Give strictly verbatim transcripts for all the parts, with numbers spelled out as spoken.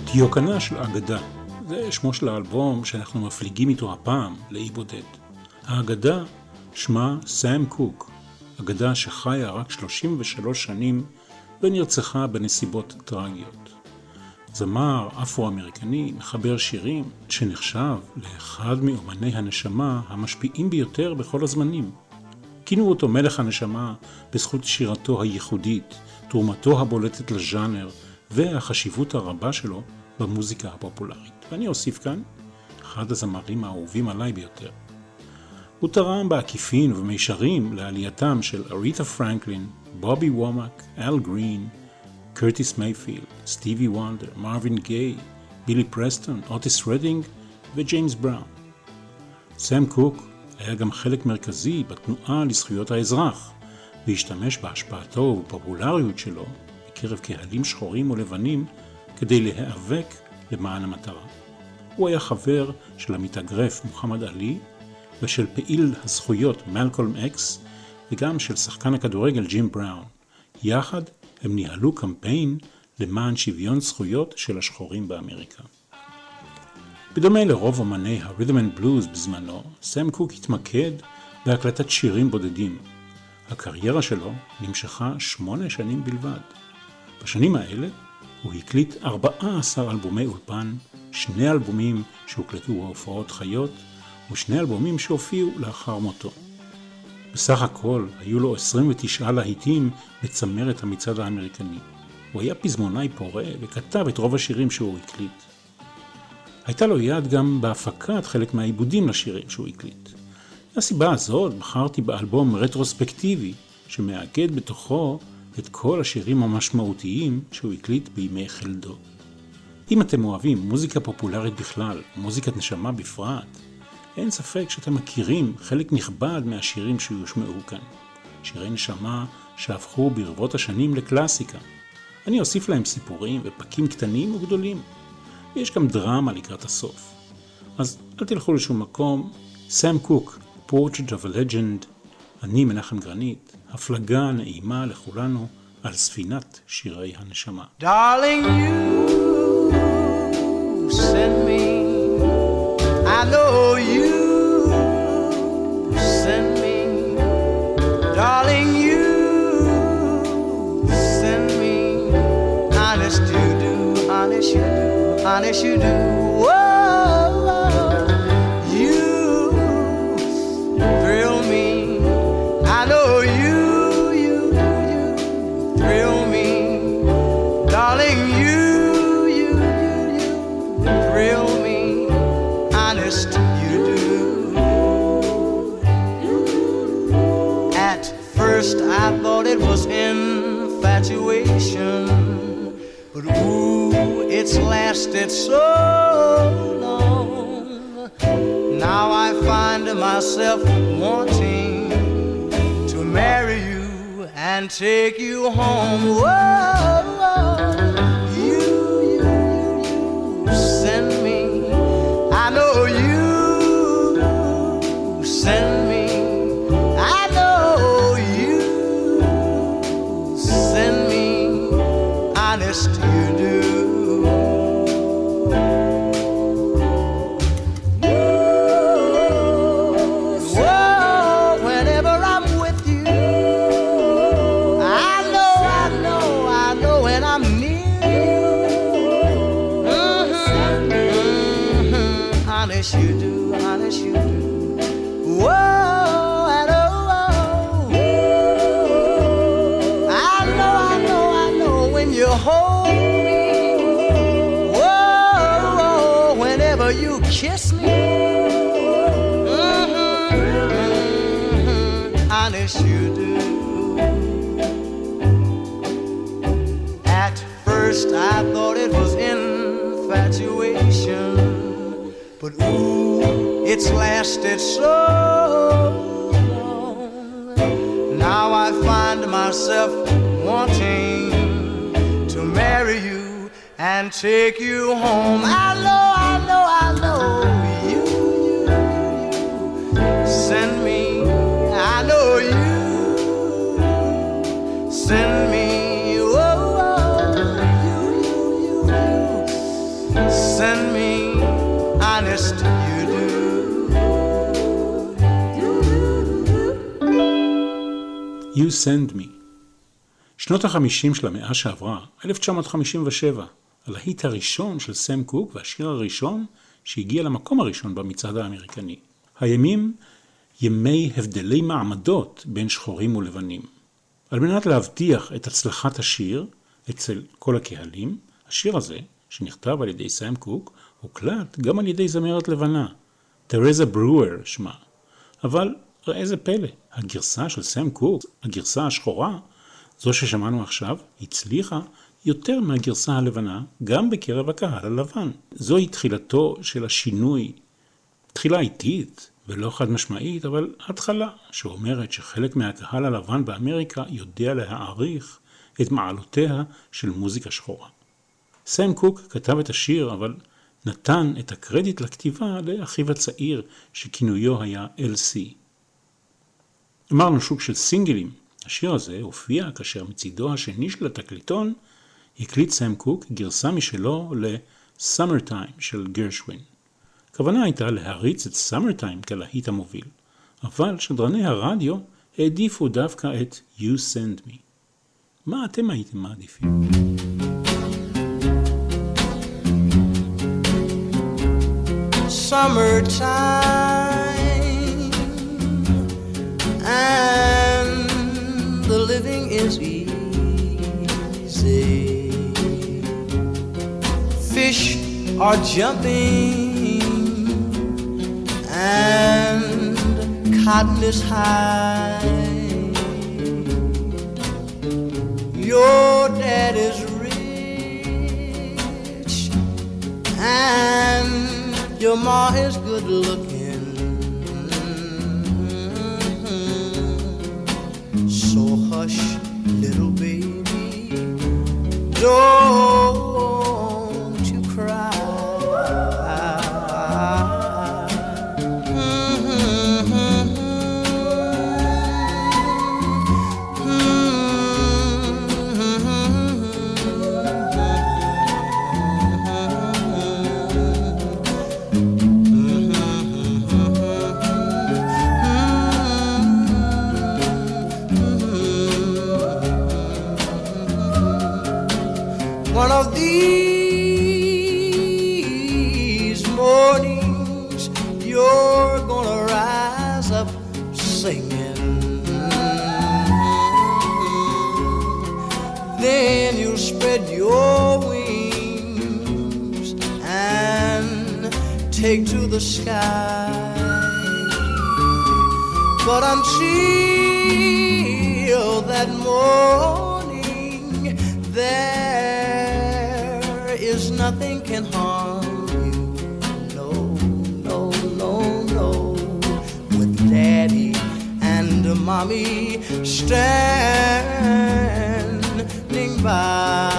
דיוקנה של אגדה, זה שמו של האלבום שאנחנו מפליגים איתו הפעם לאי בודד. האגדה שמה סם קוק, אגדה שחיה רק שלושים ושלוש שנים ונרצחה בנסיבות טרגיות. זמר אפרו-אמריקני מחבר שירים שנחשב לאחד מאומני הנשמה המשפיעים ביותר בכל הזמנים. כינו אותו מלך הנשמה בזכות שירתו הייחודית, תרומתו הבולטת לז'אנר והחשיבות הרבה שלו במוזיקה הפופולרית. ואני אוסיף כאן, אחד הזמרים האהובים עליי ביותר. הוא תרם בעקיפין ובמישרים לעלייתם של אריתה פרנקלין, בובי וומק, אל גרין, קרטיס מייפילד, סטיבי וונדר, מרווין גיי, בילי פרסטון, אוטיס רדינג וג'יימס בראון. סם קוק היה גם חלק מרכזי בתנועה לזכויות האזרח, והשתמש בהשפעתו ובפופולריות שלו בקרב קהלים שחורים ולבנים כדי להיאבק למען המטרה. הוא היה חבר של המתאגרף מוחמד עלי ושל פעיל הזכויות מלקולם אקס וגם של שחקן הכדורגל ג'ים בראון. יחד הם ניהלו קמפיין למען שוויון זכויות של השחורים באמריקה. בדומה לרוב אומני הרית'ם אנד בלוז בזמנו, סם קוק התמקד בהקלטת שירים בודדים. הקריירה שלו נמשכה שמונה שנים בלבד. בשנים האלה הוא הקליט ארבעה עשר אלבומי אולפן, שני אלבומים שהוקלטו בהופעות חיות ושני אלבומים שהופיעו לאחר מותו. בסך הכל היו לו עשרים ותשעה להיטים בצמרת המצעד האמריקני. הוא היה פזמונאי פורה וכתב את רוב השירים שהוא הקליט. הייתה לו יד גם בהפקת חלק מהעיבודים לשירים שהוא הקליט. מהסיבה הזאת בחרתי באלבום רטרוספקטיבי שמאגד בתוכו את כל השירים המשמעותיים שהוא הקליט בימי חלדו. אם אתם אוהבים מוזיקה פופולרית בכלל, מוזיקת נשמה בפרט, אין ספק שאתם מכירים חלק נכבד מהשירים שיושמעו כאן. שירי נשמה שהפכו ברבות השנים לקלאסיקה. אני אוסיף להם סיפורים ופקים קטנים וגדולים. ויש גם דרמה לקראת הסוף. אז אל תלכו לשום מקום. סם קוק, Portrait of a Legend, אני מנחם גרנית, הפלגה נעימה לכולנו על ספינת שירי הנשמה. Darling, you send me, I know you send me, darling, you send me, honest you do, honest you do, honest you do, whoa, you thrill me, I know you, you, you thrill me, darling, you, you, you, you thrill me, honest you do. At first I thought it was infatuation, but ooh, it's lasted so long. Now I find myself wanting to marry you and take you home. Whoa, you, you, you, you send me. I know you send me. I know you send me. Honest you do. Honest you do, honest you do. Whoa, and oh, oh. I know, I know, I know when you hold me. Whoa, whoa, whenever you kiss me. Mm-hmm, mm-hmm. Honest you do. At first I thought it was infatuation, but ooh, it's lasted so long. Now I find myself wanting to marry you and take you home. I know, I know, I know you, you, you send me. I know you send me. Oh, oh, you, you, you, you You Send Me. שנות החמישים של המאה שעברה, אלף תשע מאות חמישים ושבע, הלהיט הראשון של סם קוק והשיר הראשון שהגיע למקום הראשון במצעד האמריקני. הימים ימי הבדלי מעמדות בין שחורים ולבנים. על מנת להבטיח את הצלחת השיר אצל כל הקהלים, השיר הזה, שנכתב על ידי סם קוק, הוקלט גם על ידי זמרת לבנה, תרזה ברואר שמה. אבל ראה זה פלא, הגרסה של סם קוק, הגרסה השחורה, זו ששמענו עכשיו, הצליחה יותר מהגרסה הלבנה, גם בקרב הקהל הלבן. זוהי תחילתו של השינוי, תחילה איטית ולא חד משמעית, אבל התחלה שאומרת שחלק מהקהל הלבן באמריקה יודע להעריך את מעלותיה של מוזיקה שחורה. סם קוק כתב את השיר, אבל נתן את הקרדיט לכתיבה לאחיו הצעיר שכינויו היה אל סי. אמרנו שוק של סינגלים. השיר הזה הופיע כאשר מצידו השני של התקליטון הקליט סם קוק גרסה משלו ל-Summer Time של גרשווין. הכוונה הייתה להריץ את Summer Time כלהיט המוביל, אבל שדרני הרדיו העדיפו דווקא את You Send Me. מה אתם הייתם מעדיפים? Summertime and the living is easy. Fish are jumping and cotton is high. Your dad is rich and your ma is good looking. So hush, little baby, don't you cry. One of these mornings you're gonna rise up singing. Then you'll spread your wings and take to the sky. But until that morning, there is nothing can harm you. No, no, no, no. With daddy and mommy standing by.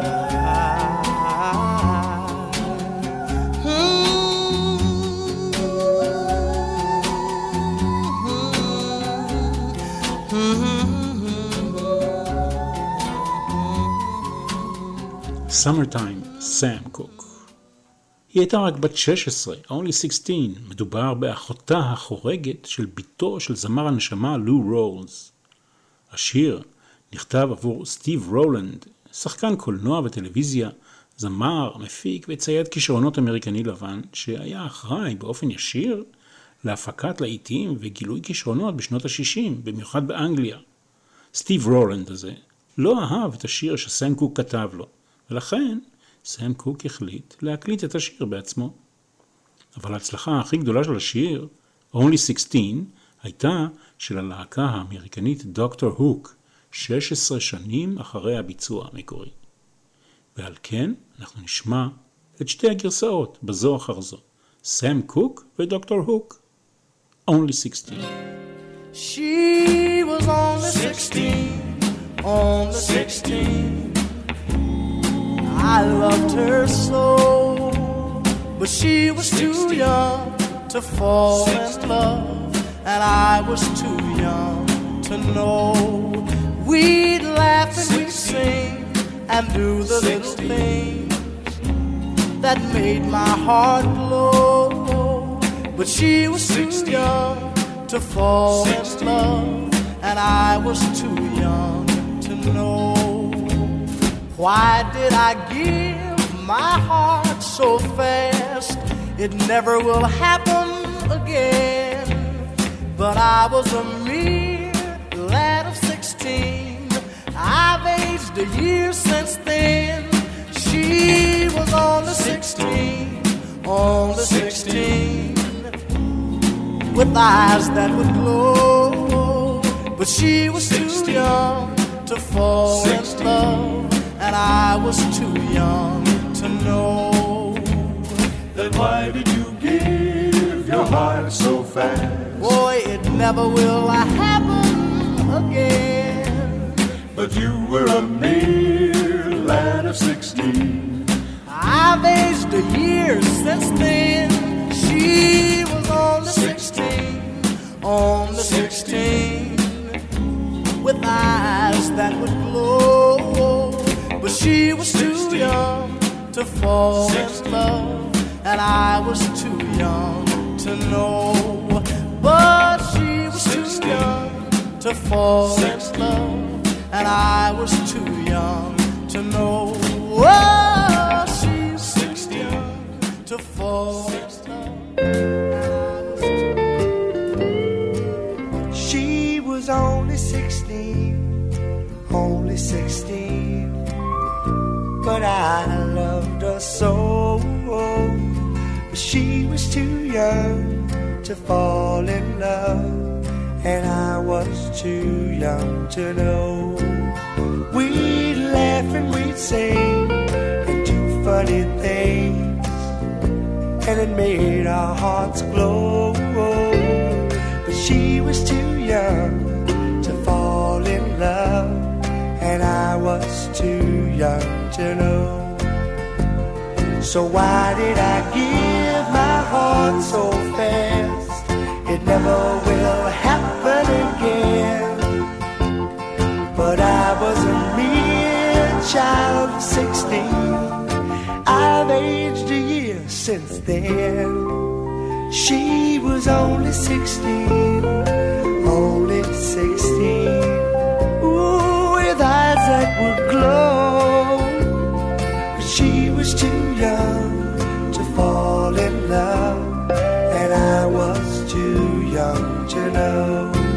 Summertime, סם קוק. היא הייתה רק בת שש עשרה, only sixteen. מדובר באחותה החורגת של ביתו של זמר הנשמה לו רולס. השיר נכתב עבור סטיב רולנד, שחקן קולנוע וטלוויזיה, זמר, מפיק וצייד כישרונות אמריקני לבן, שהיה אחראי באופן ישיר להפקת להיטים וגילוי כישרונות בשנות ה-שישים, במיוחד באנגליה. סטיב רולנד הזה לא אהב את השיר שסם קוק כתב לו, ולכן סם קוק החליט להקליט את השיר בעצמו. אבל ההצלחה הכי גדולה של השיר, only sixteen, הייתה של הלהקה האמריקנית דוקטור הוק, שש עשרה שנים אחרי הביצוע המקורי. ועל כן אנחנו נשמע את שתי הגרסאות בזו אחר זו, סם קוק ודוקטור הוק, only sixteen. She was only sixteen, only sixteen. I loved her so, but she was too young to fall in love, and I was too young to know. We'd laugh and we'd sing and do the little things that made my heart glow, but she was too young to fall in love, and I was too young to know. Why did I give my heart so fast? It never will happen again. But I was a mere lad of sixteen. I've aged a year since then. She was only sixteen, only sixteen, with eyes that would glow. But she was too young to fall in love, and I was too young to know. Then why did you give your heart so fast? Boy, it never will happen again. But you were a mere lad of sixteen. I've aged a year since then. She was only sixteen, only sixteen, with eyes that would glow. But she was too young to fall in love, and I was too young to know. But she was too young to fall in love, and I was too young to know. Oh, she's too young to fall in love. She was only sixteen, only sixteen, but I loved her so. But she was too young to fall in love, and I was too young to know. We'd laugh and we'd sing and do funny things, and it made our hearts glow. But she was too young to fall in love, and I was too young to know. So why did I give my heart so fast? It never will happen again. But I was a mere child of sixteen. I've aged a year since then. She was only sixteen, only sixteen, ooh, with eyes that would glow. But she was too young to fall in love, and I was too young to know.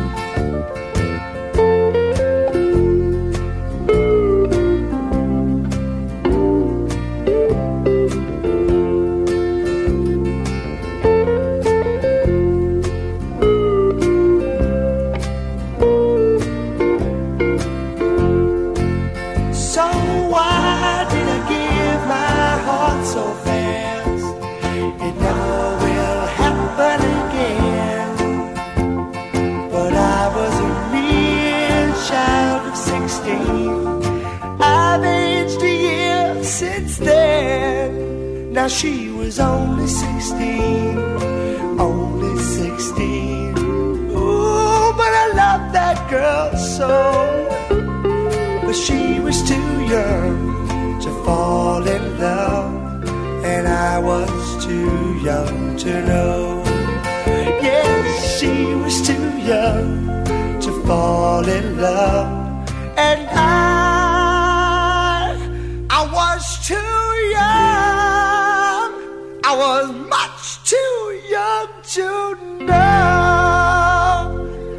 Now she was only sixteen, only sixteen. Ooh, but I love that girl so. But she was too young to fall in love, and I was too young to know. Yes, she was too young to fall in love, and I, I was too young. I was much too young to know.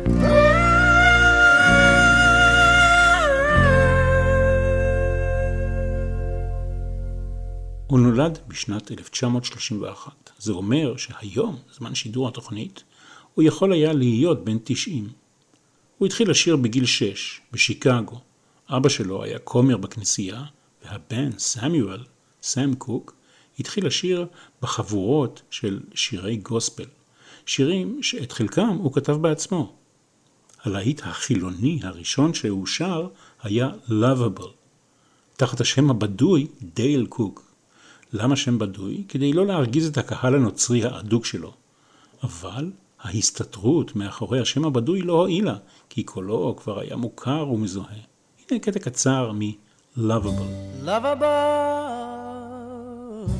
הוא נולד בשנת אלף תשע מאות שלושים ואחת. זה אומר שהיום, זמן שידור התוכנית, הוא יכול היה להיות בן תשעים. הוא התחיל לשיר בגיל שש, בשיקגו. אבא שלו היה כומר בכנסייה, והבן, סמיואל, סם קוק, התחיל לשיר בחבורות של שירי גוספל. שירים שאת חלקם הוא כתב בעצמו. הלהיט החילוני הראשון שהוא שר היה Lovable, תחת השם הבדוי דייל קוק. למה שם בדוי? כדי לא להרגיז את הקהל הנוצרי האדוק שלו. אבל ההסתתרות מאחורי השם הבדוי לא הועילה, כי קולו כבר היה מוכר ומזוהה. הנה קטע קצר מ-Lovable. Lovable,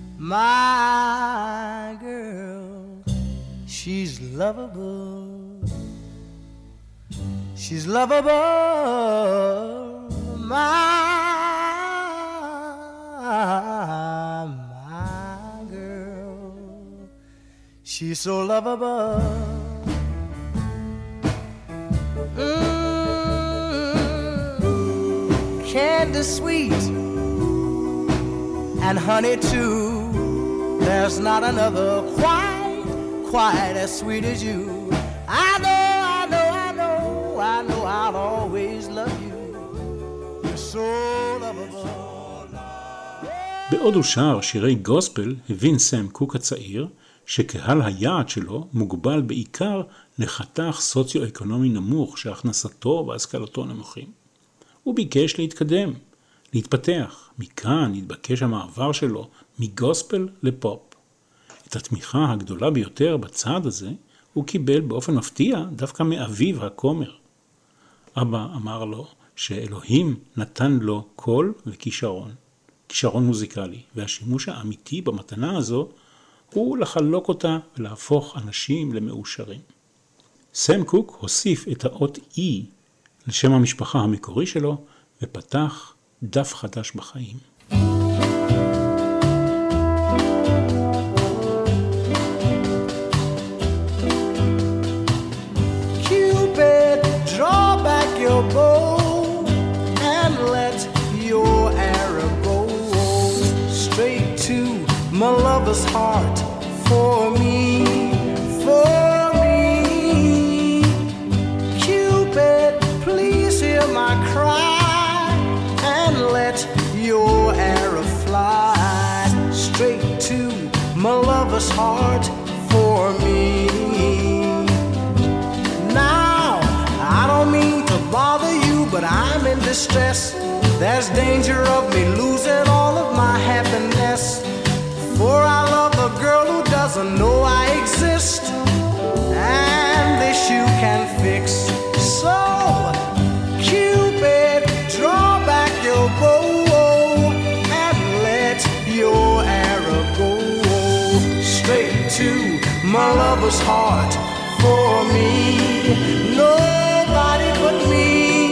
my girl, she's lovable. She's lovable, my, my girl. She's so lovable. Mm, candy sweet and honey too. There's not another quite, quite as sweet as you. I know, I know, I know, I know I'll always love you. You're so lovable. בעוד הוא שר שירי גוספל, הבין סם קוק הצעיר שקהל היעד שלו מוגבל בעיקר לחתך סוציו-אקונומי נמוך שהכנסתו והשכלתו נמוכים. הוא ביקש להתקדם, להתפתח. מכאן התבקש המעבר שלו מגוספל לפופ. את התמיכה הגדולה ביותר בצעד הזה הוא קיבל באופן מפתיע דווקא מאביו הכומר. אבא אמר לו שאלוהים נתן לו קול וכישרון, כישרון מוזיקלי, והשימוש האמיתי במתנה הזו הוא לחלוק אותה ולהפוך אנשים למאושרים. סם קוק הוסיף את האות E לשם המשפחה המקורי שלו ופתח דף חדש בחיים. Cupid, draw back your bow and let your arrow go straight to my lover's heart for me, for me. Cupid, please hear my cry and let your arrow fly straight to my lover's heart for me. Now, I don't mean to bother you, but I'm in distress. There's danger of me losing all of my happiness. For I love a girl who doesn't know I exist, and this you can fix. So, Cupid, draw back your bow and let your arrow go straight to my lover's heart for me. Nobody but me.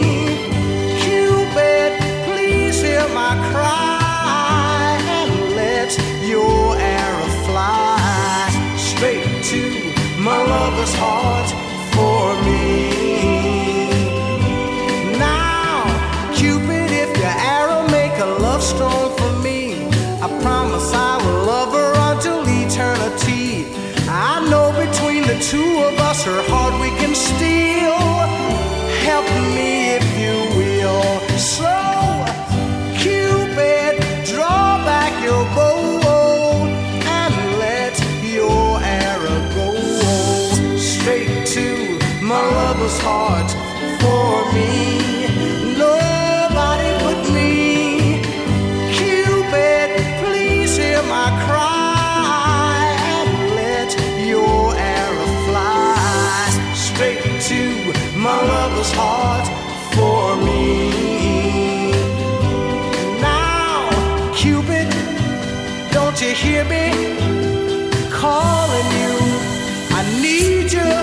Cupid, please hear my cry and let your arrow fly straight to my lover's heart for me. Now, Cupid, if your arrow make a love strong for me, I promise I will love her until eternity. I know between the two of us her heart we can steal. Help me if you will. So, Cupid, draw back your bow and let your arrow go straight to my lover's heart for me. Nobody but me. Cupid, please hear my cry and let your arrow fly straight to my lover's heart for me. Now, Cupid, don't you hear me calling you? I need you.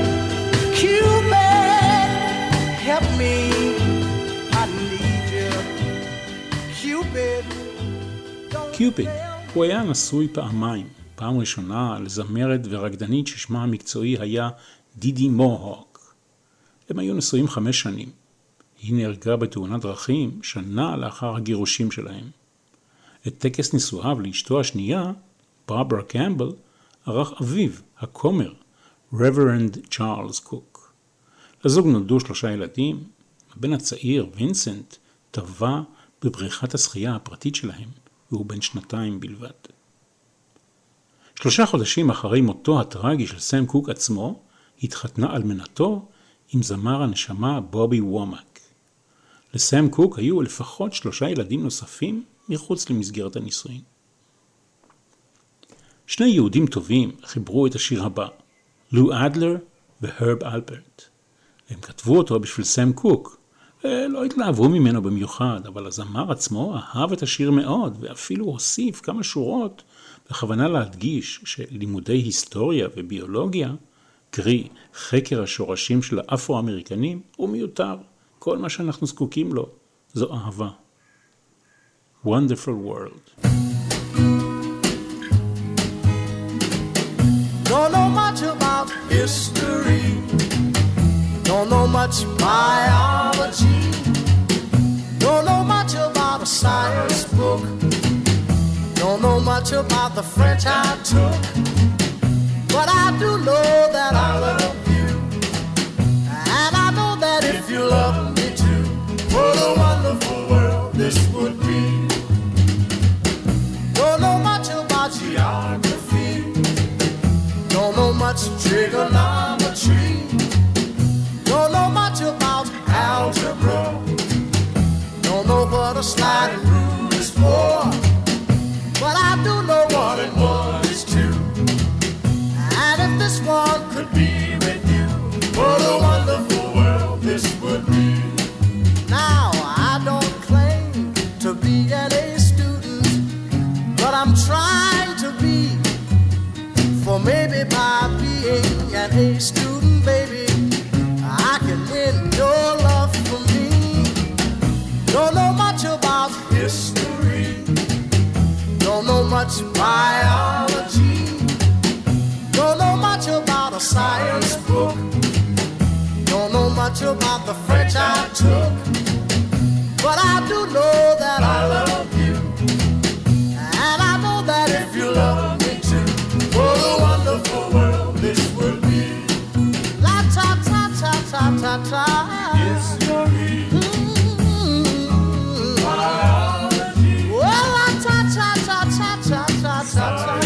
Cupid, help me. I need you. Cupid, don't קיופיד, הוא היה נשוי פעמיים. פעם ראשונה לזמרת ורקדנית ששמה המקצועי היה דידי מוהוק. הם היו נשואים חמש שנים. היא נהרגה בתאונת דרכים שנה לאחר הגירושים שלהם. את טקס נישואיו לאשתו השנייה, ברברה קמבל, ערך אביו, הכומר, רוורנד צ'ארלס קוק. לזוג נולדו שלושה ילדים. הבן הצעיר, וינסנט, טבע בבריכת השחייה הפרטית שלהם, והוא בן שנתיים בלבד. שלושה חודשים אחרי מותו הטרגי של סם קוק עצמו, התחתנה אלמנתו עם זמר הנשמה בובי וומק. לסם קוק היו לפחות שלושה ילדים נוספים מחוץ למסגרת הנישואין. שני יהודים טובים חיברו את השיר הבא, לו אדלר והרב אלפרט. הם כתבו אותו בשביל סם קוק. לא התלהבו ממנו במיוחד, אבל הזמר עצמו אהב את השיר מאוד, ואפילו הוסיף כמה שורות בכוונה להדגיש שלימודי היסטוריה וביולוגיה קרי חקר השורשים של האפרו-אמריקנים, הוא מיותר. כל מה שאנחנו זקוקים לו זו אהבה. Wonderful World. Don't know much about history, don't know much biology, don't know much about a science book, don't know much about the French I took, but I do know that I love you, and I know that if you love me too, what a wonderful world this would be. Don't know much about geography, don't know much trigonometry, don't know much about algebra, don't know what a sliding rule is for, but I do know one and one is two. And if this one could be with you, what a wonderful world this would be. Now I don't claim to be an A student, but I'm trying to be. For maybe by being an A student, baby, I can win your love for me. Don't know much about history, don't know much biology, don't know much about a science book, don't know much about the French I took, but I do know that I love you, and I know that if you love me too, what a wonderful world this would be. La ta ta ta ta ta ta. History. Mm-hmm. Biology. Well, la ta ta ta ta ta ta ta ta.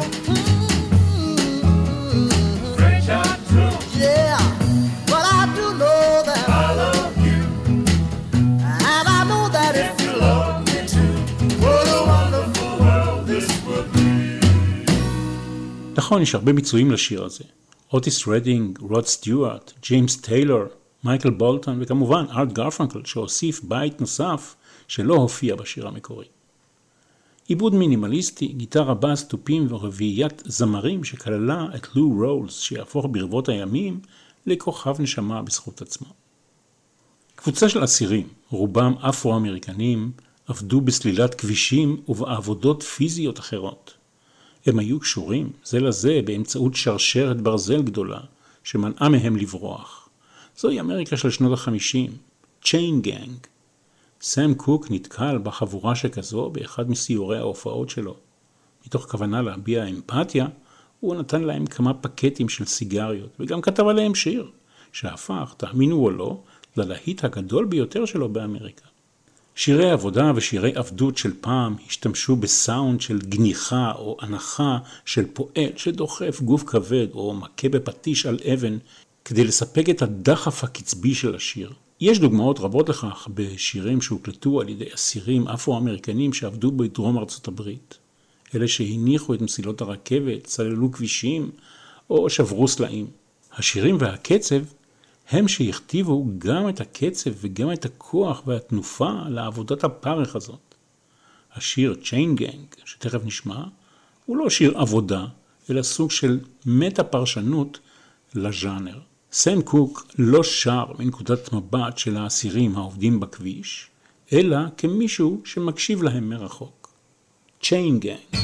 Mm-hmm. French I took. Yeah, but I do know that I love you, and I know that if you love me too, what a wonderful world this would be. נכון, יש הרבה ביצועים לשיר הזה. אוטיס רדינג, רוד סטיוארט, ג'יימס טיילור, מייקל בולטון, וכמובן ארט גרפנקל, שהוסיף בית נוסף שלא הופיע בשיר המקורי. עיבוד מינימליסטי, גיטרה בס, תופים ורביעיית זמרים שכללה את לו רולס, שיהפוך ברבות הימים לכוכב נשמה בזכות עצמו. קבוצה של אסירים, רובם אפרו-אמריקנים, עבדו בסלילת כבישים ובעבודות פיזיות אחרות. הם היו קשורים זה לזה באמצעות שרשרת ברזל גדולה שמנעה מהם לברוח. זוהי אמריקה של שנות החמישים, צ'יין גנג. סם קוק נתקל בחבורה שכזו באחד מסיורי ההופעות שלו. מתוך כוונה להביע אמפתיה, הוא נתן להם כמה פקטים של סיגריות, וגם כתב עליהם שיר, שהפך, תאמינו או לא, ללהיט הגדול ביותר שלו באמריקה. שירי עבודה ושירי עבדות של פעם השתמשו בסאונד של גניחה או הנחה של פועל שדוחף גוף כבד או מכה בפטיש על אבן כדי לספק את הדחף הקצבי של השיר. יש דוגמאות רבות לכך בשירים שהוקלטו על ידי אסירים אפרו-אמריקנים שעבדו בדרום ארצות הברית. אלה שהניחו את מסילות הרכבת, סללו כבישים או שברו סלעים. השירים והקצב הם שהכתיבו גם את הקצב וגם את הכוח והתנופה לעבודת הפרך הזאת. השיר צ'יין גנג, שתכף נשמע, הוא לא שיר עבודה, אלא סוג של מטה פרשנות לז'אנר. סם קוק לא שר מנקודת מבט של האסירים העובדים בכביש, אלא כמישהו שמקשיב להם מרחוק. צ'יין גנג.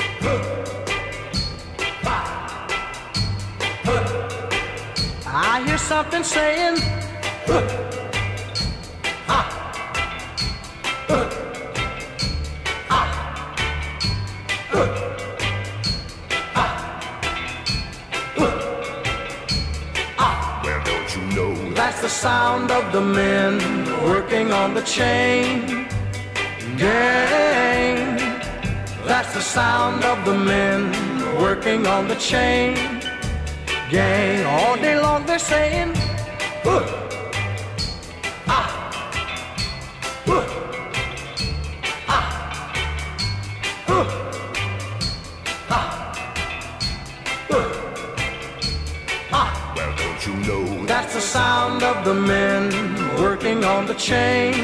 I hear something saying, huh, ha, huh, ha, huh, ha, huh, ha. Well, don't you know that's the sound of the men working on the chain gang. That's the sound of the men working on the chain gang. All day long they're saying, huh, ah, huh, ah, huh, ah, huh, ah. Well, don't you know that's the sound of the men working on the chain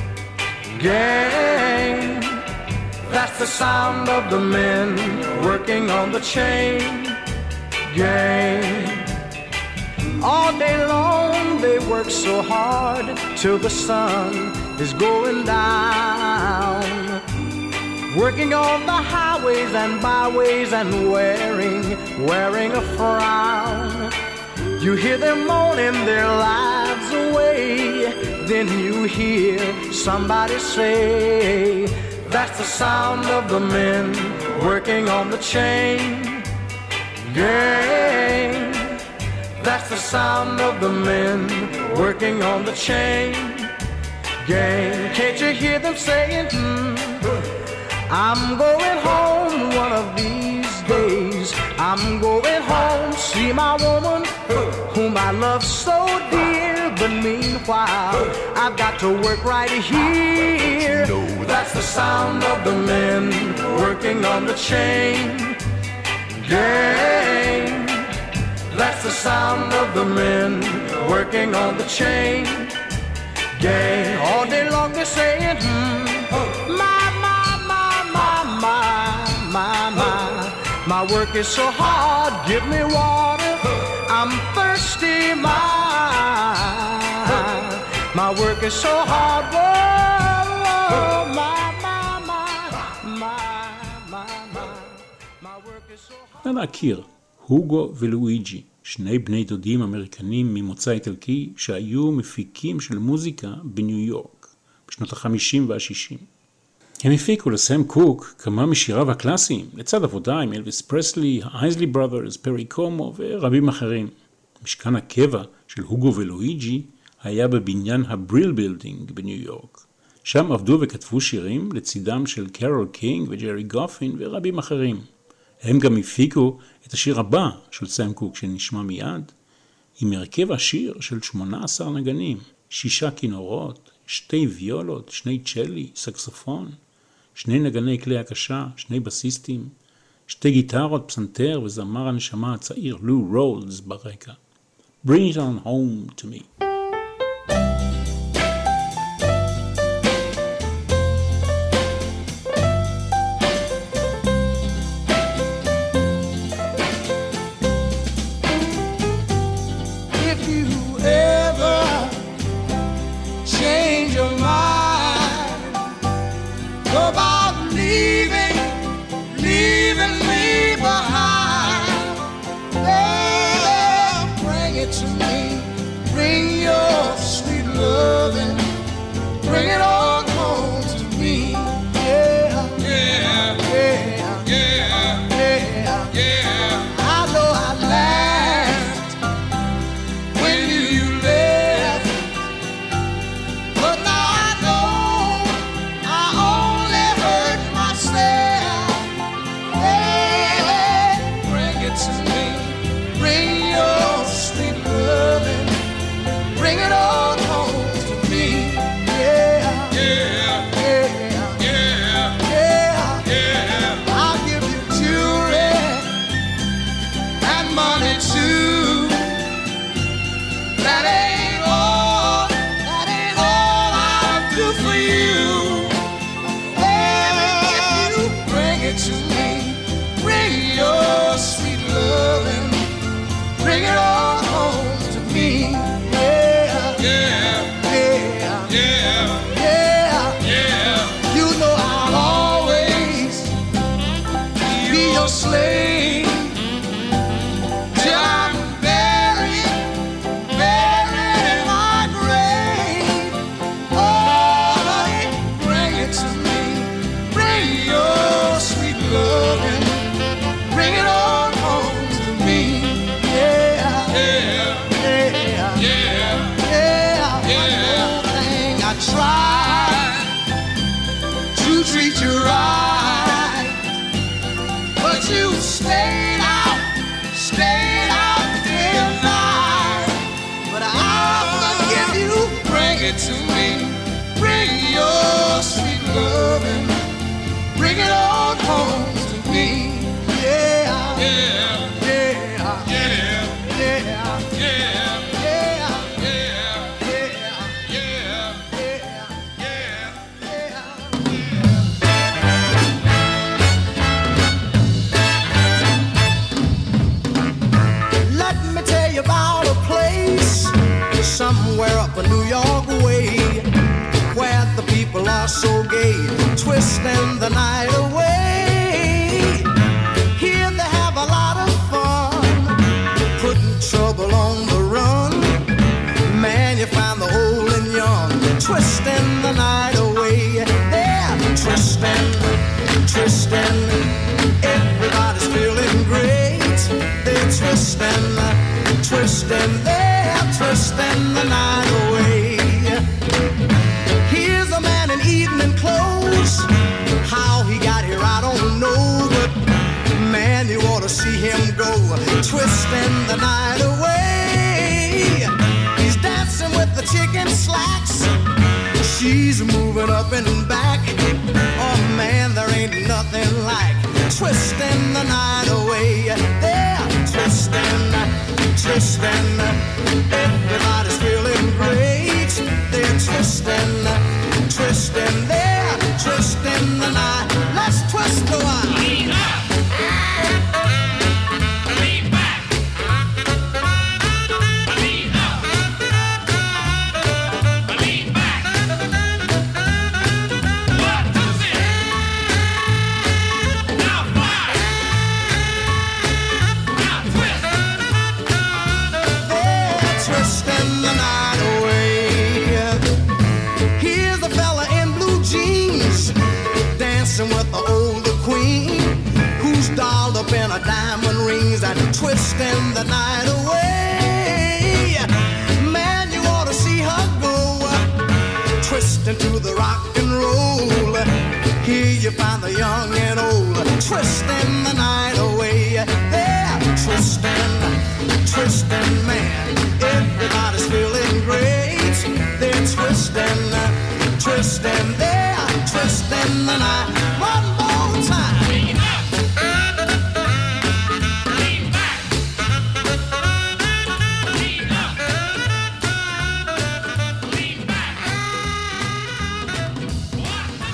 gang. That's the sound of the men working on the chain gang. All day long they work so hard till the sun is going down, working on the highways and byways and wearing, wearing a frown. You hear them moaning their lives away, then you hear somebody say, that's the sound of the men working on the chain gang. That's the sound of the men working on the chain gang. Can't you hear them saying, hmm, I'm going home one of these days. I'm going home, see my woman whom I love so dear. But meanwhile, I've got to work right here. That's the sound of the men working on the chain gang. That's the sound of the men working on the chain gang. All day long they're saying, hmm, my, my, my, my, my, my, my. My work is so hard, give me water, I'm thirsty, my. My work is so hard, whoa, whoa, my, my, my, my, my, my. My work is so hard. להכיר, הוגו ולואיג'י, שני בני דודים אמריקנים ממוצא איטלקי שהיו מפיקים של מוזיקה בניו יורק בשנות ה-חמישים וה-שישים. הם הפיקו לסם קוק כמה משיריו הקלאסיים, לצד עבודה עם אלוויס פרסלי, האייזלי בראדרס, פרי קומו ורבים אחרים. משכן הקבע של הוגו ולואיג'י היה בבניין הבריל בילדינג בניו יורק. שם עבדו וכתבו שירים לצידם של קרול קינג וג'רי גופין ורבים אחרים. הם גם הפיקו את השיר הבא של סם קוק שנשמע מיד, עם הרכב השיר של שמונה עשר נגנים, שישה כינורות, שתי ויולות, שני צ'לי, סקסופון, שני נגני כלי הקשה, שני בסיסטים, שתי גיטרות, פסנתר וזמר הנשמה הצעיר לו רולס ברקע. Bring it on home to me. Bring gay, twisting the night away. Here they have a lot of fun, putting trouble on the run. Man, you find the old and young, twisting the night away. They're twisting, twisting, everybody's feeling great. They're twisting, twisting, they're twisting the night away. Here's a man in evening clothes, how he got here I don't know, but man, you ought to see him go, twisting the night away. He's dancing with the chicken slacks, she's moving up and back. Oh man, there ain't nothing like twisting the night away. They're twisting, twisting, everybody's feeling great. They're twisting, twisting, they're twisting the night. Let's twist a while. Lean up, lean back, lean up, lean back. One, two, three. Now fly. Now twist. They're twisting the night away. Here's a fella in blue jeans, dancing with the older queen, who's dolled up in a diamond rings and twisting the night away. Man, you ought to see her go, twisting to the rock and roll. Here you find the young and old, twisting the night away. They're twisting, twisting, man, everybody's feeling great. They're twisting, twisting, they're twisting the night. One more time. Lean up, lean back, lean up, lean back. One, two,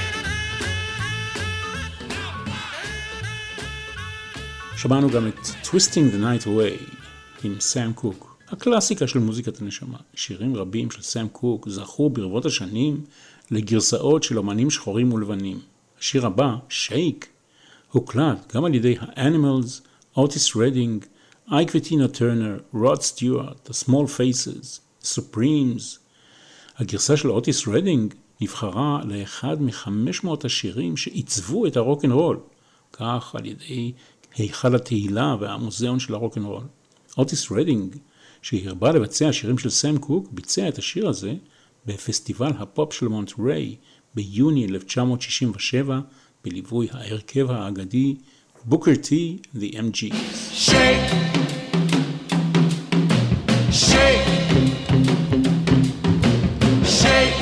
three. שמענו גם את Twisting the Night Away עם סאם קוק, הקלאסיקה של מוזיקת הנשמה. שירים רבים של סאם קוק זכו ברבות השנים לגרסאות של אומנים שחורים ולבנים. השיר הבא, שייק, הוקלט גם על ידי האנימלס, אוטיס רדינג, אייק וטינה טרנר, רוד סטיוארט, The Small Faces, Supremes. הגרסה של אוטיס רדינג נבחרה לאחד מחמש מאות השירים שעיצבו את הרוק'נ'רול, כך על ידי היכל התהילה והמוזיאון של הרוק'נ'רול. אוטיס רדינג, שהרבה לבצע שירים של סאם קוק, ביצע את השיר הזה בפסטיבל הפופ של מונטריי ביוני אלף תשע מאות שישים ושבע, בליווי ההרכב האגדי בוקר טי The אם ג'יז. Shake, shake, shake,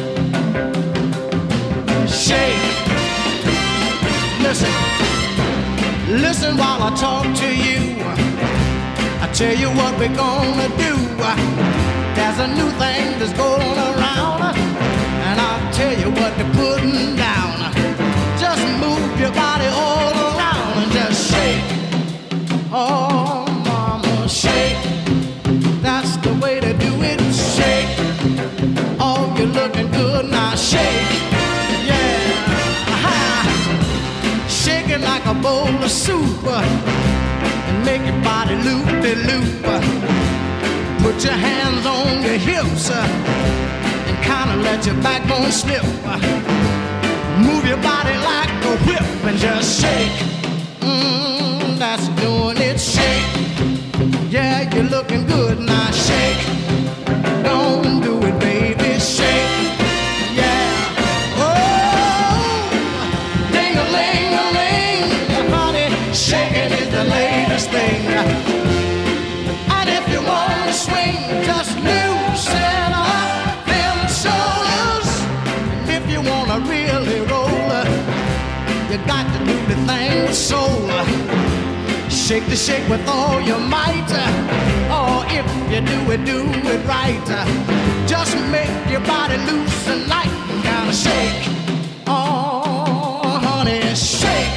shake. Listen, listen while I talk to you. I tell you what we're gonna do. There's a new thing that's going around, and I'll tell you what they're putting down. Just move your body all around and just shake. Oh, mama, shake. That's the way to do it. Shake. Oh, you're looking good now. Shake. Yeah. Aha. Shake it like a bowl of soup, and make your body loop-de-loop. Put your hands on your hips, and kind of let your backbone slip. Move your body like a whip and just shake. Mm, that's doing it. Shake. Yeah, you're looking good now. Shake. Don't do it, baby. Shake. Yeah. Oh, ding-a-ling-a-ling, honey. Shaking is the latest thing. And if you want to swing, just loosen up them shoulders. If you want to really roll, you got to do the thing with soul. Shake the shake with all your might. Or if you do it, do it right. Just make your body loose and light and kind of shake. Oh, honey, shake.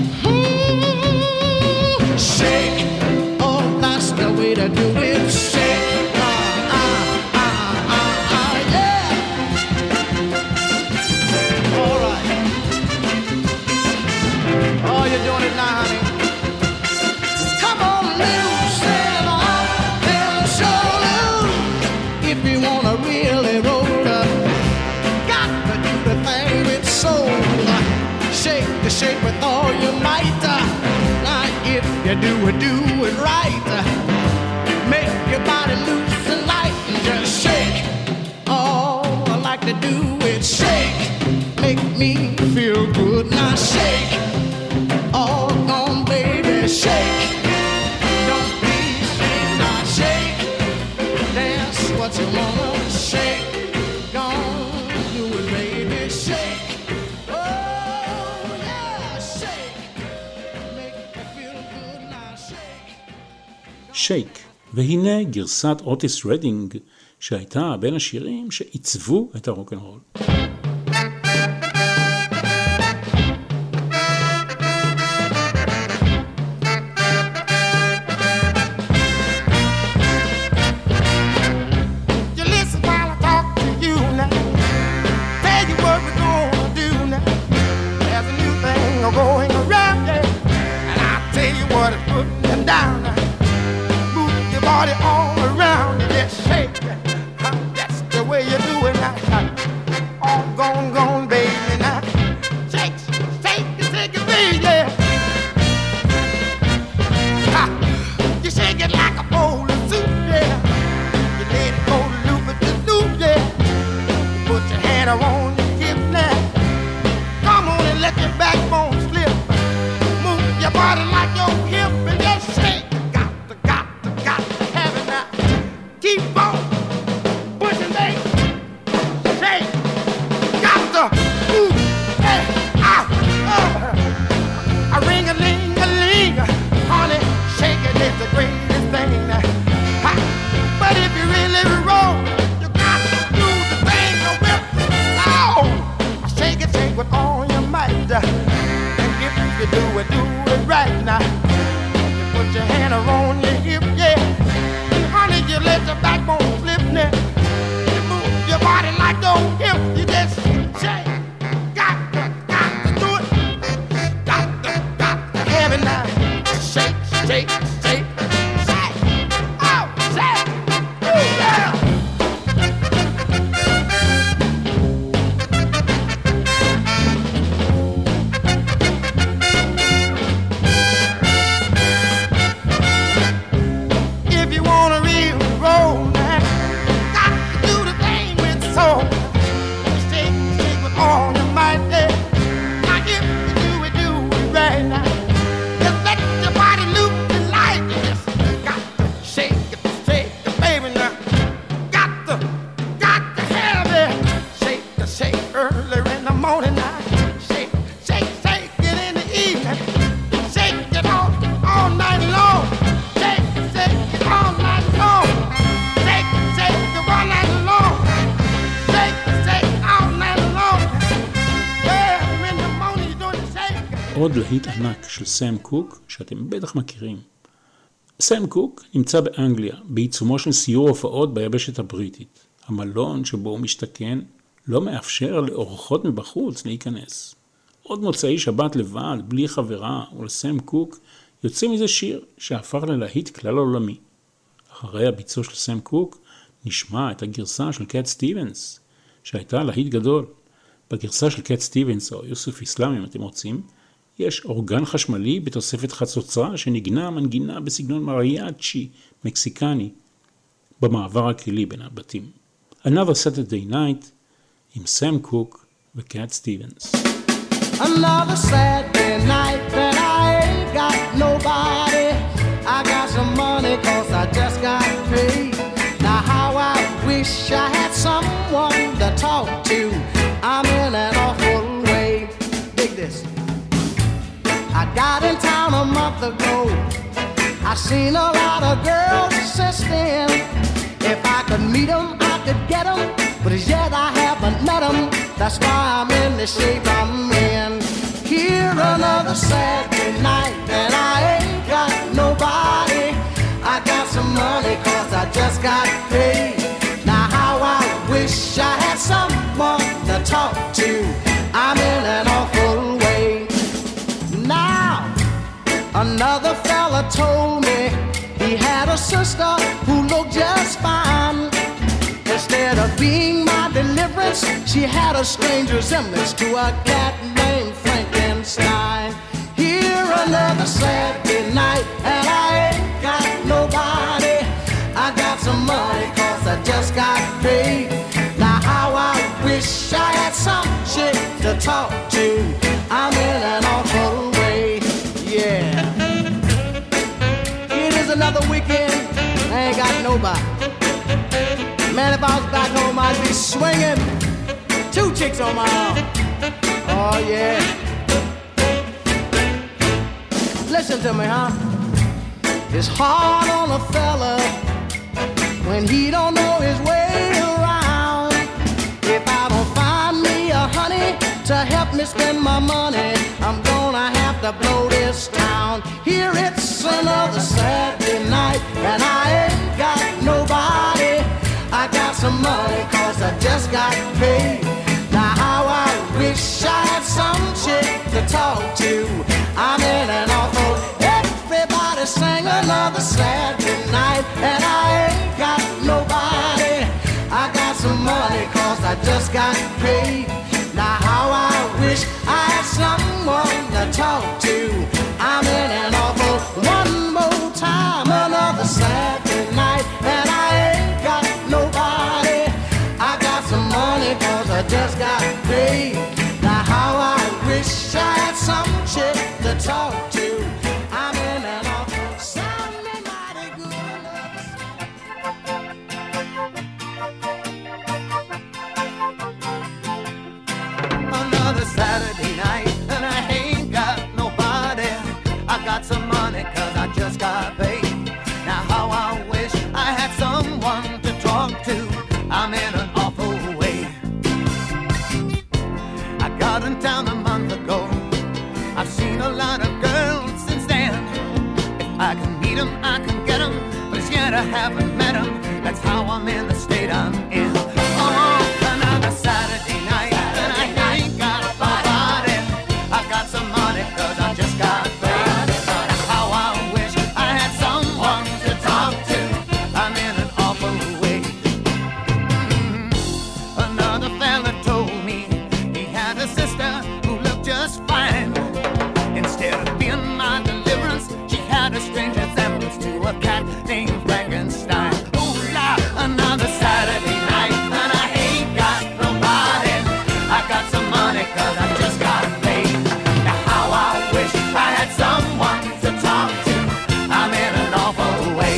Mm-hmm. Shake. Oh, that's the way to do it. Shake. Uh, uh, uh, uh, uh, yeah. soul. Shake the shake with all your might. Now if you do it, do it right. Make your body loose and light and just shake. All I like to do is shake. Make me feel good. Now shake. All gone, baby, shake. Don't be ashamed. Now shake. Dance what you wanna shake. Don't do it, baby, shake. Oh yeah, shake. Make me feel good. Now shake. שייק, והנה גרסת אוטיס רדינג שהייתה בין השירים שעיצבו את הרוק'נ'רול. Going around, yeah, and I tell you what, it's putting them down. Move your body all around and just shake. That's the way you do it now. All gone, gone, baby, now. Shake, shake, shake it, baby, yeah. Ha. You shake it like a bowl of soup, yeah. You let it go loop at the loop, yeah. You put your hand around your hip now. Come on and let your backbone your body like your hip and just shake. Got to, got to, got to have it now. Keep on pushing, baby. Shake. Got to move. Hey, out. Uh. A ring a ling a ling. Honey, shaking is the greatest thing. Ha. But if you really roll, you got to do the thing a whip. Oh, shake it, shake with all your might. And if you do it, do right now, you put your hand around your hip, yeah. And honey, you let your backbone flip now. You move your body like your hip, you just shake. Got to, got to do it. Got to, got to have it now. Shake, shake, shake, shake. Oh, shake. Ooh, yeah. עוד להיט ענק של סם קוק שאתם בטח מכירים. סם קוק נמצא באנגליה בעיצומו של סיור הופעות ביבשת הבריטית. המלון שבו הוא משתכן לא מאפשר לאורחות מבחוץ להיכנס. עוד מוצאי שבת לבד, בלי חברה, ולסם קוק יוצא מזה שיר שהפך ללהיט כלל עולמי. אחרי הביצוע של סם קוק נשמע את הגרסה של קאט סטיבנס, שהייתה להיט גדול. בגרסה של קאט סטיבנס או יוסוף איסלאם אם אתם רוצים, יש אורגן חשמלי בתוספת חצוצרה שנגנה מנגינה בסגנון מריאצ'י מקסיקני במעבר הכלי בין הבתים. Another Saturday Night עם סם קוק וקאט סטיבנס. Another Saturday night that I ain't got nobody. I got some money cause I just got paid. Now how I wish I had someone to talk to. I'm in an awful way. Dig this. I got in town a month ago. I seen a lot of girls since then. If I could meet them, I could get them. But as yet I haven't met them. That's why I'm in the shape I'm in. Here another Saturday night and I ain't got nobody. I got some money cause I just got paid. Now how I wish I had someone to talk to. I'm in an awful way. Now another fella told me he had a sister who looked just fine. Instead of being my deliverance, she had a strange resemblance to a cat named Frankenstein. Here another Saturday night, and I ain't got nobody. I got some money, cause I just got paid. Now how I wish I had some chick to talk to. I'm in an awful way, yeah. It is another weekend, I ain't got nobody. Man, if I was back home, I'd be swinging two chicks on my arm. Oh, yeah. Listen to me, huh? It's hard on a fella when he don't know his way around. If I don't find me a honey to help me spend my money, I'm gonna have to blow this town. Here it's another Saturday night, and I ain't got nobody. I got some money, cause I just got paid. Now how I wish I had some chick to talk to. I'm in an awful. Everybody sang another Saturday night, and I ain't got nobody. I got some money, cause I just got paid. Now how I wish I had someone to talk to. I'm in an awful. One more time, another Saturday night, and I ain't got nobody. I got some money, cause I just got paid. Now how I wish I had some chick to talk to. I'm in an awful. Sounding mighty good. Another Saturday night, and I ain't got nobody. I got some money, cause I just got paid. Now how I wish I had someone to talk to. I'm in an awful way. I got in town a month ago. I've seen a lot of girls since then. If I can meet them, I can get them, but as yet I haven't met them. That's how I'm in the state I'm in. Oh, another Saturday night, and I ain't got nobody. I got some money, cause I just got paid. How I wish I had someone to talk to. I'm in an awful way. Mm-hmm. Another fella told me he had a sister who looked just fine. Instead of being my deliverance, she had a strange resemblance to a cat named Frankenstein. Ooh la, another Saturday night, and I ain't got nobody. I got some money, cause I just got paid. Now how I wish I had someone to talk to. I'm in an awful way.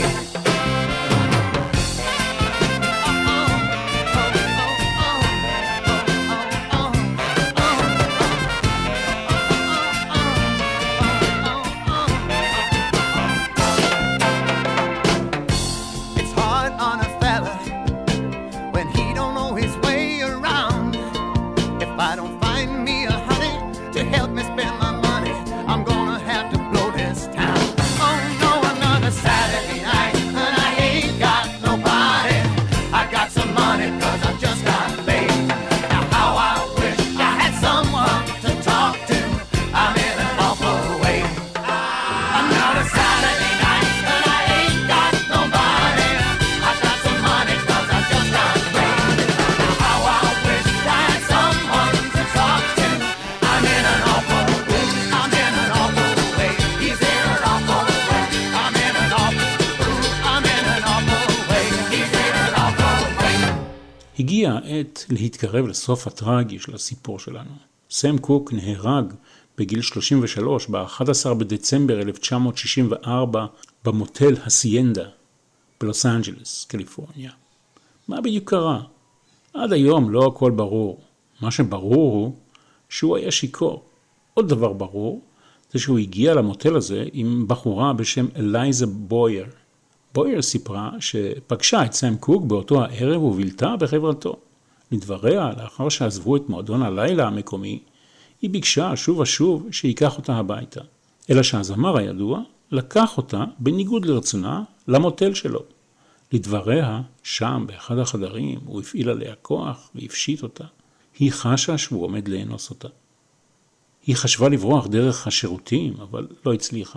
It's hard on a fella when he don't know his way around. If I don't find me a honey to help me spend my money, I'm gonna have to blow this town. Oh no, another Saturday night, and I ain't got nobody. I got some money, cause I just got paid. Now how I wish I had someone to talk to. I'm in an awful way. Another Saturday night, and I ain't got nobody. I got some money, cause I just got paid. Now how I wish I had someone to talk to. I'm in an awful way. I'm in an awful way. He's in an awful way. I'm in an awful. I'm in an awful way. He's in an awful way. הגיעה העת להתקרב לסוף הטרגי של הסיפור שלנו. סם קוק נהרג בגיל שלושים ושלוש ב-אחד עשר בדצמבר אלף תשע מאות שישים וארבע במוטל הסיינדה בלוס אנג'לס, קליפורניה. מה בדיוק קרה? עד היום לא הכל ברור. מה שברור הוא שהוא היה שיכור. עוד דבר ברור זה שהוא הגיע למוטל הזה עם בחורה בשם אלייזה בויר. בויר סיפרה שפגשה את סם קוק באותו הערב ובילתה בחברתו. לדבריה, לאחר שעזבו את מועדון הלילה המקומי, היא ביקשה שוב ושוב שיקח אותה הביתה. אלא שהזמר הידוע לקח אותה בניגוד לרצונה למוטל שלו. לדבריה, שם באחד החדרים הוא הפעיל עליה כוח והפשיט אותה. היא חשה שהוא עומד לאנוס אותה. היא חשבה לברוח דרך השירותים, אבל לא הצליחה.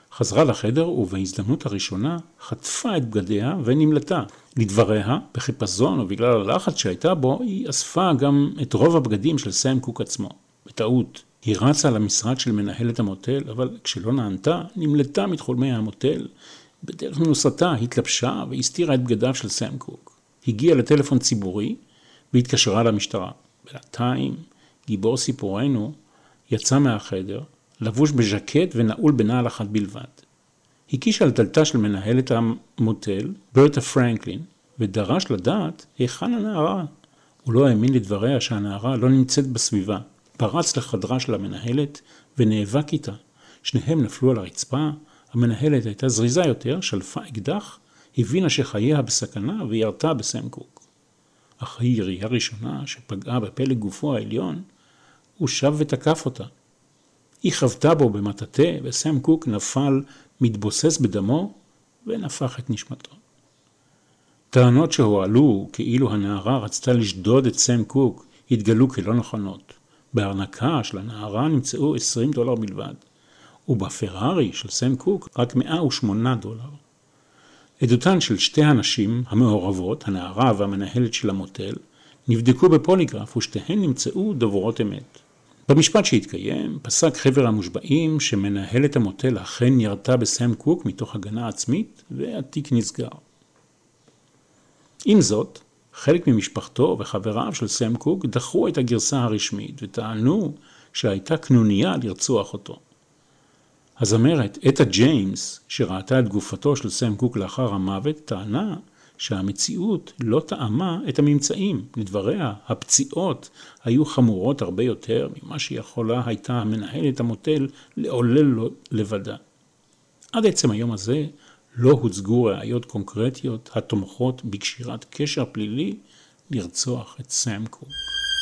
חזרה לחדר ובהזדמנות הראשונה חטפה את בגדיה ונמלטה. לדבריה, בחיפזון ובגלל הלחץ שהייתה בו, היא אספה גם את רוב הבגדים של סם קוק עצמו. בטעות, היא רצה למשרד של מנהלת המוטל, אבל כשלא נענתה, נמלטה מתחולמי המוטל. בדרך מנוסתה התלבשה והסתירה את בגדיו של סם קוק. הגיעה לטלפון ציבורי והתקשרה למשטרה. בינתיים, גיבור סיפורנו יצא מהחדר, לבוש בז'קט ונעול בנעל אחת בלבד. הקיש על דלתה של מנהלת המוטל, ברטה פרנקלין, ודרש לדעת היכן הנערה. הוא לא האמין לדבריה שהנערה לא נמצאת בסביבה. פרץ לחדרה של המנהלת ונאבק איתה. שניהם נפלו על הרצפה, המנהלת הייתה זריזה יותר, שלפה אקדח, הבינה שחייה בסכנה וירתה בסם קוק. אחרי ירייה ראשונה שפגעה בפלג גופו העליון, הוא שב ותקף אותה. היא חבטה בו במטאטה וסם קוק נפל מתבוסס בדמו ונפח את נשמתו. טענות שהועלו כאילו הנערה רצתה לשדוד את סם קוק התגלו כלא נכונות. בארנקה של הנערה נמצאו עשרים דולר בלבד, ובפרארי של סם קוק רק מאה ושמונה דולר. עדותן של שתי הנשים המעורבות, הנערה והמנהלת של המוטל, נבדקו בפוליגרף ושתיהן נמצאו דוברות אמת. במשפט שהתקיים, פסק חבר המושבעים שמנהלת המוטל אכן ירתה בסם קוק מתוך הגנה עצמית, והתיק נסגר. עם זאת, חלק ממשפחתו וחבריו של סם קוק דחו את הגרסה הרשמית וטענו שהייתה קנוניה לרצוח אותו. הזמרת אטה ג'יימס, שראתה את גופתו של סם קוק לאחר המוות, טענה שהמציאות לא טעמה את הממצאים. לדבריה, הפציעות היו חמורות הרבה יותר ממה שיכולה הייתה המנהלת המוטל לעולל לו לבדה. עד עצם היום הזה לא הוצגו ראיות קונקרטיות התומכות בקשירת קשר פלילי לרצוח את סם קוק.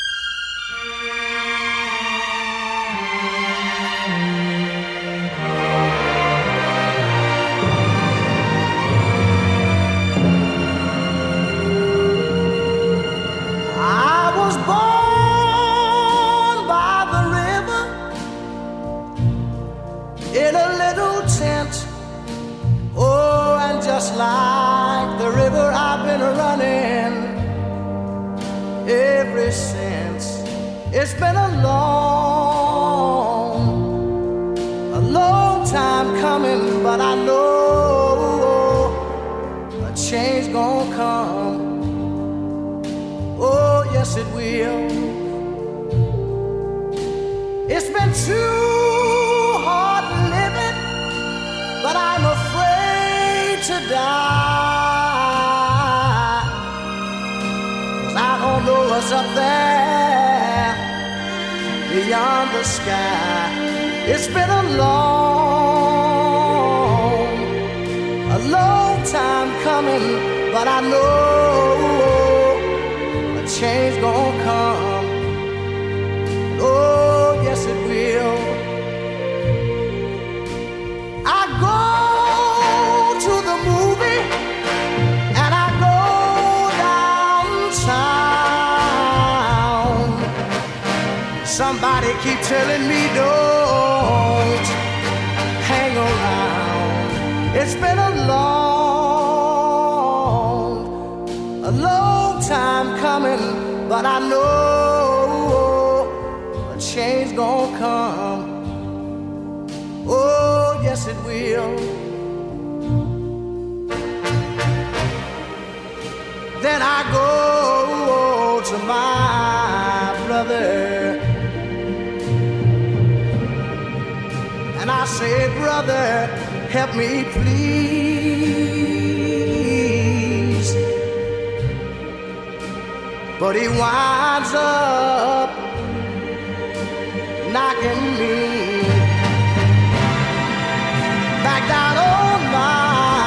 Just like the river I've been running ever since. It's been a long, a long time coming, but I know a change gonna come. Oh, yes it will. It's been too hard living, but I'm afraid to die, 'cause I don't know what's up there beyond the sky. It's been a long, a long time coming, but I know a change gonna come. Oh, yes it will. I go to the movie and I go downtown. Somebody keep telling me don't hang around. It's been a long, a long time coming, but I know a change gonna come. Oh, yes it will. Then I go to my brother and I say, brother, help me please. But he winds up knocking me back down on my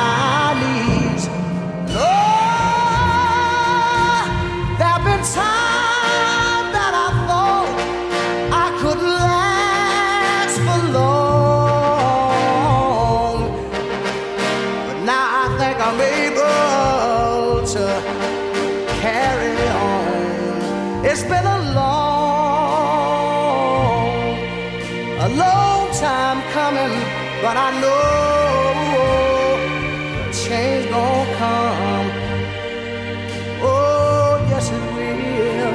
time that I thought I could last for long, but now I think I'm able to carry on. It's been a long, a long time coming, but I know change gon' come. Oh, yes it will.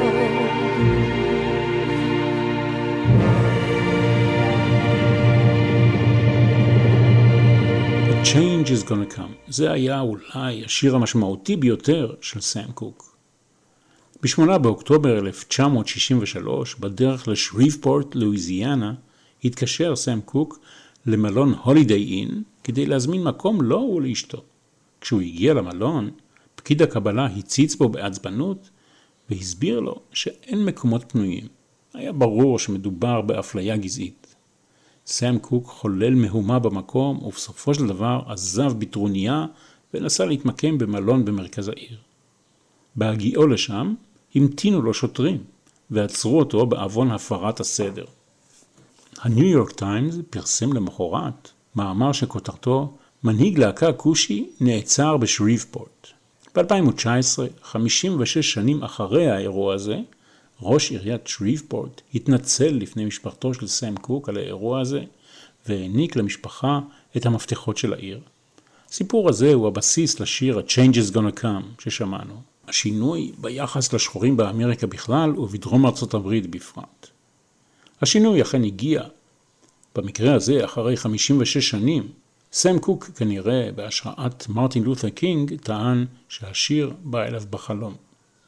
The change is gonna come. זה היה אולי השיר המשמעותי ביותר של סם קוק. בשמונה באוקטובר אלף תשע מאות שישים ושלוש, בדרך לשריבפורט, לואיזיאנה, התקשר סם קוק למלון הולידיי אין כדי להזמין מקום לו ולאשתו. כשהוא הגיע למלון, פקיד הקבלה הציץ בו בעצבנות והסביר לו שאין מקומות פנויים. היה ברור שמדובר באפליה גזעית. סם קוק חולל מהומה במקום ובסופו של דבר עזב בטרוניה ונסע להתמקם במלון במרכז העיר. בהגיעו לשם המתינו לו שוטרים ועצרו אותו בעוון הפרת הסדר. הניו יורק טיימס פרסם למחרת מאמר שכותרתו מנהיג להקה כושי נעצר בשריבפורט. ב-אלפיים תשע עשרה, חמישים ושש שנים אחרי האירוע הזה, ראש עיריית שריבפורט התנצל לפני משפחתו של סם קוק על האירוע הזה והעניק למשפחה את המפתחות של העיר. הסיפור הזה הוא הבסיס לשיר ה-Change is gonna come ששמענו. השינוי ביחס לשחורים באמריקה בכלל ובדרום ארצות הברית בפרט. השינוי אכן הגיע. במקרה הזה, אחרי חמישים ושש שנים, סם קוק כנראה בהשראת מרטין לותר קינג טען שהשיר בא אליו בחלום.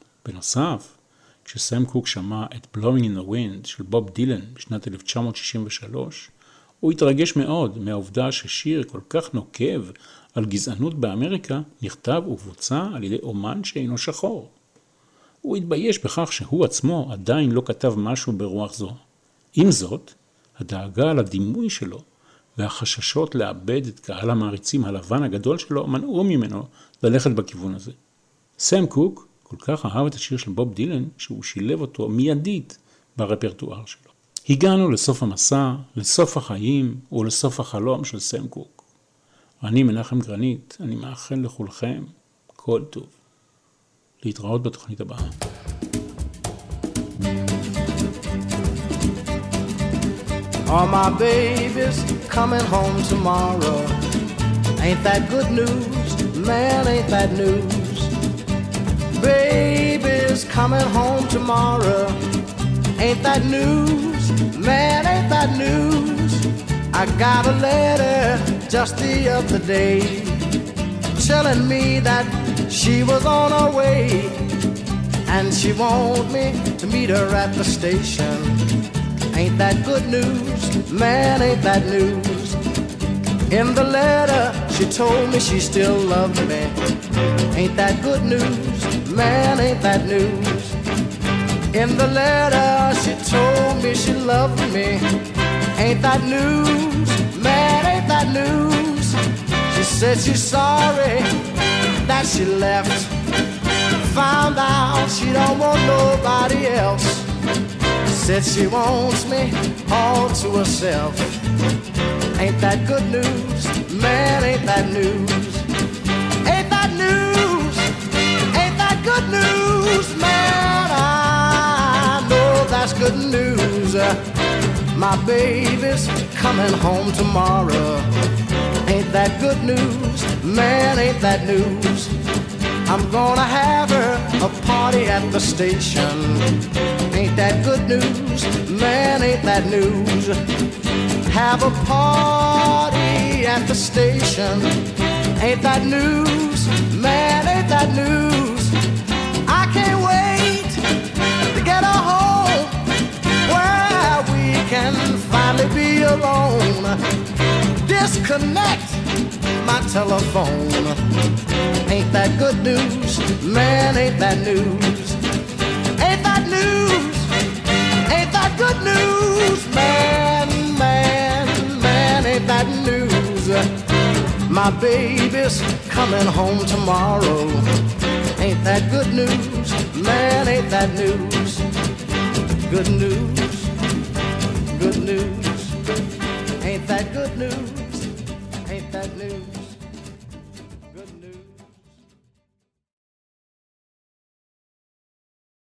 בנוסף, כשסם קוק שמע את Blowing in the Wind של בוב דילן בשנת אלף תשע מאות שישים ושלוש, הוא התרגש מאוד מהעובדה ששיר כל כך נוקב על גזענות באמריקה נכתב ובוצע על ידי אומן שאינו שחור. הוא התבייש בכך שהוא עצמו עדיין לא כתב משהו ברוח זו. עם זאת, הדאגה על הדימוי שלו והחששות לאבד את קהל המעריצים הלבן הגדול שלו מנעו ממנו ללכת בכיוון הזה. סם קוק כל כך אהב את השיר של בוב דילן שהוא שילב אותו מיידית ברפרטואר שלו. הגענו לסוף המסע, לסוף החיים ולסוף החלום של סם קוק. אני מנחם גרנית, אני מאחל לכולכם כל טוב. להתראות בתוכנית הבאה. All my babies coming home tomorrow. Ain't that good news? Man, ain't that news? Babies coming home tomorrow. Ain't that news? Man, ain't that news? I got a letter just the other day telling me that she was on her way and she want me to meet her at the station. Ain't that good news? Man, ain't that news? In the letter, she told me she still loved me. Ain't that good news? Man, ain't that news? In the letter, she told me she loved me. Ain't that news? Man, ain't that news? She said she's sorry that she left. Found out she don't want nobody else. Said she wants me all to herself. Ain't that good news? Man, ain't that news? Ain't that news? Ain't that good news? Man, I know that's good news. My baby's coming home tomorrow. Ain't that good news? Man, ain't that news? I'm gonna have her a party at the station. Ain't that good news? Man, ain't that news? Have a party at the station. Ain't that news? Man, ain't that news? I can't wait to get her home where we can finally be alone. Disconnect my telephone. Ain't that good news? Man, ain't that news? Ain't that news? Ain't that good news? Man, man, man, ain't that news? My baby's coming home tomorrow. Ain't that good news? Man, ain't that news? Good news, good news. Ain't that good news? Ain't that news?